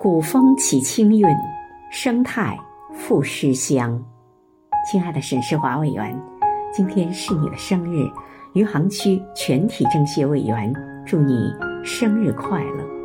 古风起清韵，生态赋诗香。亲爱的沈世华委员，今天是你的生日，余杭区全体政协委员祝你生日快乐。